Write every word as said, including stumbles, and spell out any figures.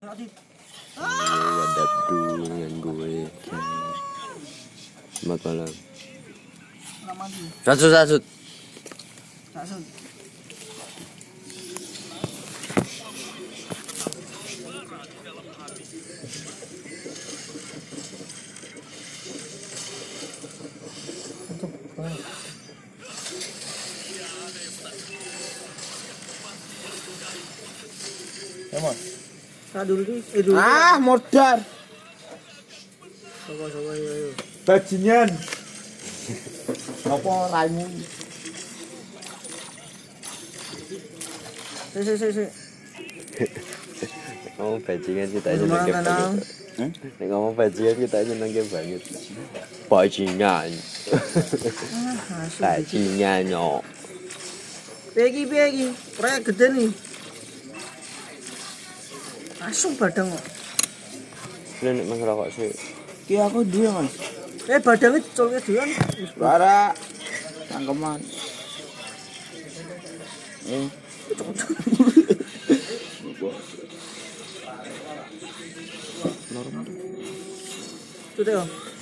Wadap dulu dengan gue. Selamat malam. Sasut sasut. Sasut. Emang. Dulu di, eh dulu. Ah, modar. Coba coba ayo ayo. Bajingan. Apa raimu? Si si si si. Ngomong bajingan kita aja nangkep banget. Nek ngomong bajingan kita aja nangkep banget. Bajingan. Bajingan yo. Pegi pegi, proyek gede nih. Langsung badang kok. Lu nek mang rokok sih. Ki aku duwe, Mas. Eh badangnya colke dhewean. Para cangkeman. Eh. Itu deh.